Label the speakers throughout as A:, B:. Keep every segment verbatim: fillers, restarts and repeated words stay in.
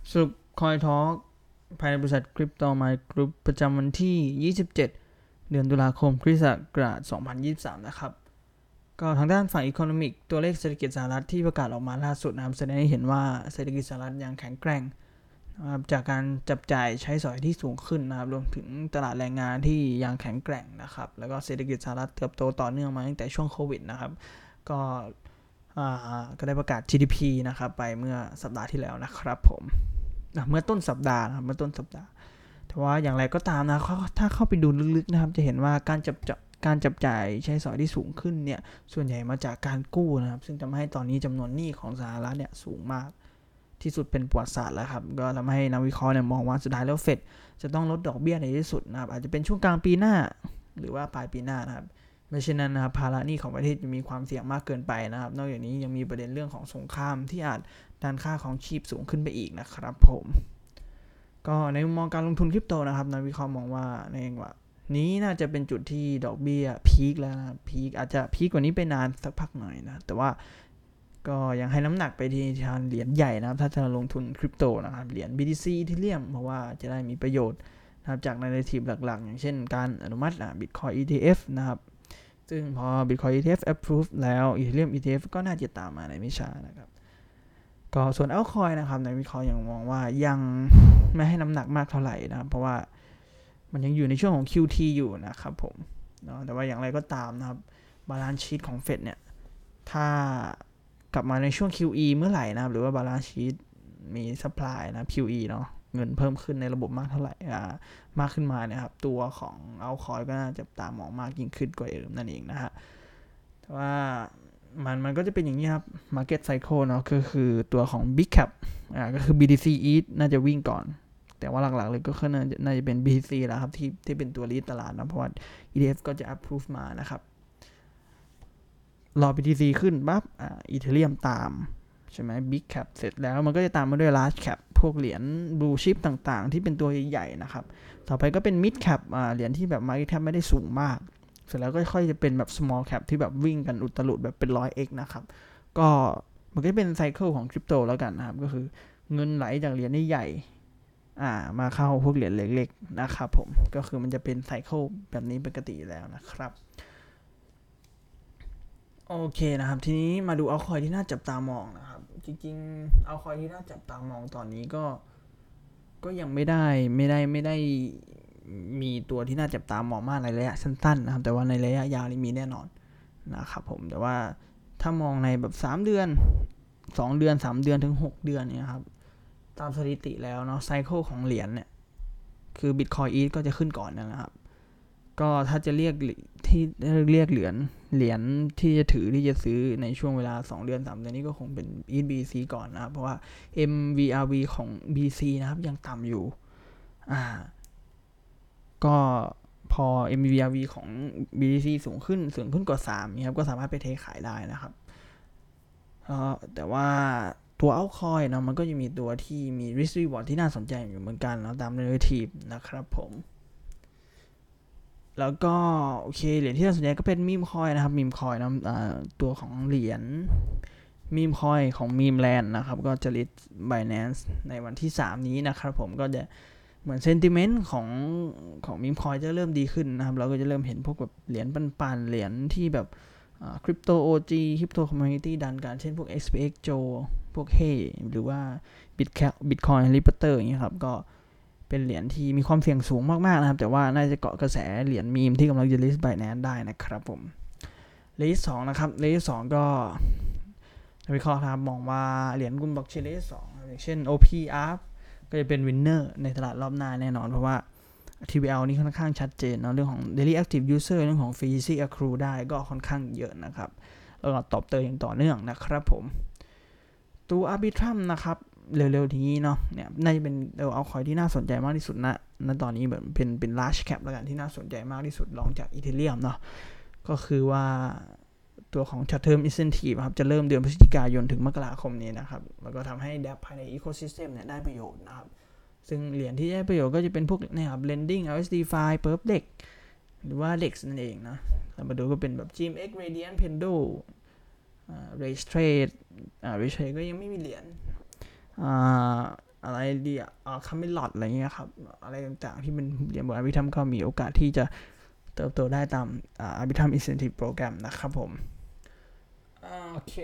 A: สรุป CoinTalk ภายในบริษัท Crypto Mind Group ประจำวันที่ยี่สิบเจ็ดเดือนตุลาคมคริสต์ศักราชสองพันยี่สิบสามนะครับก็ทางด้านฝั่ง Economic ตัวเลขเศรษฐกิจสหรัฐที่ประกาศออกมาล่าสุดนะครับแสดงให้เห็นว่าเศรษฐกิจสหรัฐยังแข็งแกร่งนะครับจากการจับจ่ายใช้สอยที่สูงขึ้นนะครับรวมถึงตลาดแรงงานที่ยังแข็งแกร่งนะครับแล้วก็เศรษฐกิจสหรัฐเติบโตต่อเนื่องมาตั้งแต่ช่วงโควิดนะครับก็ก็ได้ประกาศ จี ดี พี นะครับไปเมื่อสัปดาห์ที่แล้วนะครับผมเมื่อต้นสัปดาห์นะครับเมื่อต้นสัปดาห์แต่ว่าอย่างไรก็ตามนะถ้าเข้าไปดูลึกๆนะครับจะเห็นว่าการจับจ่ายการจับจ่ายใช้สอยที่สูงขึ้นเนี่ยส่วนใหญ่มาจากการกู้นะครับซึ่งทำให้ตอนนี้จำนวนหนี้ของสหรัฐเนี่ยสูงมากที่สุดเป็นประวัติศาสตร์แล้วครับก็ทำให้นักวิเคราะห์เนี่ยมองว่าสุดท้ายแล้วเฟดจะต้องลดดอกเบี้ยในที่สุดนะครับอาจจะเป็นช่วงกลางปีหน้าหรือว่าปลายปีหน้านะครับไม่เช่นนั้นนะครับภาระหนี้ของประเทศจะมีความเสี่ยงมากเกินไปนะครับนอกจากนี้ยังมีประเด็นเรื่องของสงครามที่อาจดันค่าของชีพสูงขึ้นไปอีกนะครับผมก็ในมุมมองการลงทุนคริปโตนะครับนักวิเคราะห์มองว่าในว่านี้น่าจะเป็นจุดที่ดอกเบี้ยพีคแล้วนะพีคอาจจะพีคกว่านี้ไปนานสักพักหน่อยนะแต่ว่าก็ยังให้น้ำหนักไปที่ทางเหรียญใหญ่นะครับถ้าจะลงทุนคริปโตนะครับเหรียญ บี ที ซี Ethereum เพราะว่าจะได้มีประโยชน์นะครับจาก narrative หลักๆอย่างเช่นการอนุมัติ Bitcoin อี ที เอฟ นะครับซึ่งพอ Bitcoin อี ที เอฟ approve แล้ว Ethereum อี ที เอฟ ก็น่าจะตามมาในไม่ช้านะครับก็ส่วน altcoin นะครับในวิเคราะห์ยังมองว่ายังไม่ให้น้ำหนักมากเท่าไหร่นะครับเพราะว่ามันยังอยู่ในช่วงของ คิว ที อยู่นะครับผมเนาะแต่ว่าอย่างไรก็ตามนะครับ balance sheet ของ Fed เนี่ยถ้ากลับมาในช่วง คิว อี เมื่อไหร่นะครับหรือว่า balance sheet มี supply นะ คิว อี เนาะเงินเพิ่มขึ้นในระบบมากเท่าไหร่อ่ามากขึ้นมาเนี่ยครับตัวของ altcoin ก็น่าจะตามมองมากยิ่งขึ้นกว่าเดิมนั่นเองนะฮะแต่ว่ามันมันก็จะเป็นอย่างนี้ครับ market cycle เนาะก็คือตัวของ big cap อ่าก็คือ บี ที ซี อี ที น่าจะวิ่งก่อนแต่ว่าหลักๆเลยก็น่าจะน่าจะเป็น บี ที ซี แล้วครับที่ที่เป็นตัว lead ตลาดนะเพราะว่า อี ที เอฟ ก็จะ approve มานะครับรอ บี ที ซี ขึ้นปั๊บอ่า Ethereum ตามใช่ไหม Big Cap เสร็จแล้วมันก็จะตามมาด้วย Large Cap พวกเหรียญ Blue Chip ต่างๆที่เป็นตัวใหญ่ๆนะครับต่อไปก็เป็น Mid Cap อ่าเหรียญที่แบบ Market Cap ไม่ได้สูงมากเสร็จแล้วก็ค่อยจะเป็นแบบ Small Cap ที่แบบวิ่งกันอุตลุดแบบเป็น หนึ่งร้อยเอ็กซ์ นะครับก็มันก็เป็นไซเคิลของคริปโตแล้วกันนะครับก็คือเงินไหลจากเหรียญใหญ่อ่ามาเข้าพวกเหรียญเล็กๆนะครับผมก็คือมันจะเป็นไซเคิลแบบนี้ปกติแล้วนะครับโอเคนะครับทีนี้มาดูเอาคอยที่น่าจับตามองนะครับจริงๆเอาคอยที่น่าจับตามองตอนนี้ก็ก็ยังไม่ได้ไม่ได้ไม่ได้มีตัวที่น่าจับตามองมากในระยะสั้นๆนะครับแต่ว่าในระยะยาวนี่มีแน่นอนนะครับผมแต่ว่าถ้ามองในแบบสามเดือนสองเดือนสามเดือนถึงหกเดือนเนี่ยครับตามสถิติแล้วเนาะไซเคิลของเหรียญเนี่ยคือ Bitcoin อี ที ก็จะขึ้นก่อนนะครับก็ถ้าจะเรียกที่เรียกเหรียญเหรียญที่จะถือที่จะซื้อในช่วงเวลาสองเดือนสามเดือนนี้ก็คงเป็น อี ที บี ซี ก่อนนะครับเพราะว่า เอ็ม วี อาร์ วี ของ บี ซี นะครับยังต่ำอยู่อ่าก็พอ เอ็ม วี อาร์ วี ของ บี ที ซี สูงขึ้นสูงขึ้นกว่าสามนะครับก็สามารถไปเทขายได้นะครับแต่ว่าตัว altcoin นะมันก็จะมีตัวที่มี risk reward ที่น่าสนใจอยู่เหมือนกันแล้วตาม narrative นะครับผมแล้วก็โอเคเหรียญที่น่าสนใจก็เป็นมีมคอยนะครับมีมคอยนะตัวของเหรียญมีมคอยของมีมแลนด์นะครับก็จะลิสต์ Binance ในวันที่สามนี้นะครับผมก็จะเหมือนเซนติเมนต์ของของมีมคอยจะเริ่มดีขึ้นนะครับเราก็จะเริ่มเห็นพวกแบบเหรียญปันๆเหรียญที่แบบคริปโต โอ จี คริปโตคอมมูนิตี้ดันกันเช่นพวก เอ็กซ์ พี เอ็กซ์ Joe พวก Hey หรือว่า Bitcoin Reporter อย่างเงี้ยครับก็เป็นเหรียญที่มีความเสี่ยงสูงมากๆนะครับแต่ว่าน่าจะเกาะกระแสเหรียญมีมที่กำลังจะลิสต์ Binance ได้นะครับผมเลขสองนะครับเลขสองก็วิเคราะห์ครับมองว่าเหรียญกลุ่มบล็อกเชนเลขสองอย่างเช่น โอ พี อาร์ ก็จะเป็นวินเนอร์ในตลาดรอบหน้าแน่นอนเพราะว่า ที วี แอล นี่ค่อนข้างชัดเจนเนาะเรื่องของ Daily Active User เรื่องของ Fee Accrue ได้ก็ค่อนข้างเยอะนะครับแล้วก็ตอบเติมอย่างต่อเนื่องนะครับผมตัว Arbitrum นะครับเร็วๆนี้เนาะเนี่ยน่าจะเป็นเอาคอยที่น่าสนใจมากที่สุดนะณตอนนี้แบบเป็นเป็น large cap แล้วกันที่น่าสนใจมากที่สุดรองจาก Ethereum เนาะก็คือว่าตัวของ short term incentive ครับจะเริ่มเดือนพฤศจิกายนถึงมกราคมนี้นะครับแล้วก็ทำให้ DApp ภายใน ecosystem เนี่ยได้ประโยชน์นะครับซึ่งเหรียญที่ได้ประโยชน์ก็จะเป็นพวกเนี่ยครับ lending แอล เอส ดี Fi Perfdex หรือว่า Dex นั่นเองนะเรามาดูก็เป็นแบบ จี เอ็ม เอ็กซ์ Radiant Pendo Race Trade Race Trade ก็ยังไม่มีเหรียญอะไรเดียอ่าคาเมลอดอะไรเงี้ยครับอะไรต่างๆที่เป็นเรียนบนอาร์บิทัมก็มีโอกาสที่จะเติบโตได้ตามอ่าอาร์บิทัมอินเซนทีฟโปรแกรมนะครับผมโอเค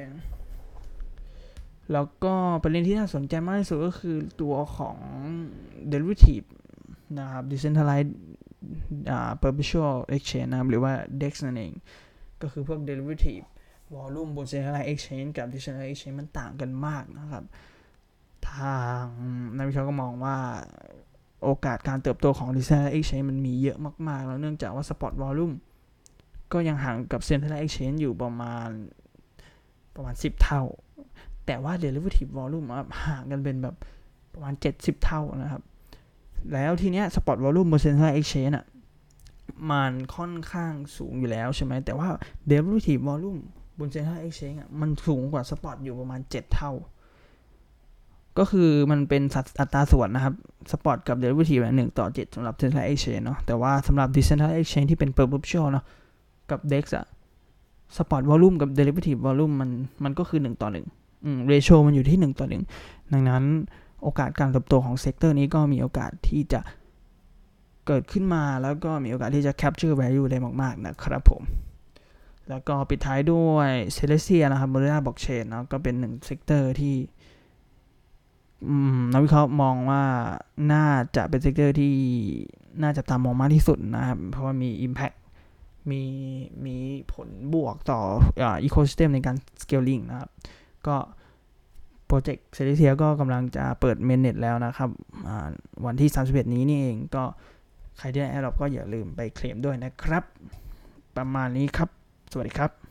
A: แล้วก็ประเด็นที่น่าสนใจมากที่สุดก็คือตัวของ derivative นะครับ decentralized อ่า perpetual exchange นะครับหรือว่า ดี อี อี เอ็กซ์ นั่นเองก็คือพวก derivative volume บน centralized exchange กับ decentralized exchange มันต่างกันมากนะครับทางนักวิเคราะห์ก็มองว่าโอกาสการเติบโตของ decentralized exchange มันมีเยอะมากๆแล้วเนื่องจากว่า spot volume ก็ยังห่างกับ centralized exchange อยู่ประมาณประมาณสิบเท่าแต่ว่า derivative volume ห่างกันเป็นแบบประมาณเจ็ดสิบเท่านะครับแล้วทีเนี้ย spot volume บน centralized exchange อ่ะมันค่อนข้างสูงอยู่แล้วใช่ไหมแต่ว่า derivative volume บน centralized exchange อ่ะมันสูงกว่า spot อยู่ประมาณเจ็ดเท่าก็คือมันเป็นอัตราส่วนนะครับ spot กับ derivative หนึ่งต่อเจ็ดสำหรับ centralized exchange เนาะแต่ว่าสำหรับ decentralized exchange ที่เป็น perpetual เนาะกับ ดี อี อี เอ็กซ์ อ่ะ spot volume กับ derivative volume มันมันก็คือหนึ่งต่อหนึ่งอืม ratio มันอยู่ที่หนึ่งต่อหนึ่งดังนั้นโอกาสการเติบโตของเซกเตอร์นี้ก็มีโอกาสที่จะเกิดขึ้นมาแล้วก็มีโอกาสที่จะ capture value ได้มากๆนะครับผมแล้วก็ปิดท้ายด้วย Celestia นะครับ Moderna Blockchain เนาะก็เป็นหนึ่งเซกเตอร์ที่นักวิเคราะห์มองว่าน่าจะเป็นเซกเตอร์ที่น่าจะตามมองมากที่สุดนะครับเพราะว่ามี impact มีมีผลบวกต่ออ่า ecosystem ในการ scaling นะครับก็โปรเจกต์ Celestia ก็กำลังจะเปิด mainnet แล้วนะครับวันที่สามสิบเอ็ดนี้นี่เองก็ใครที่ได้ Airdrop ก็อย่าลืมไปเคลมด้วยนะครับประมาณนี้ครับสวัสดีครับ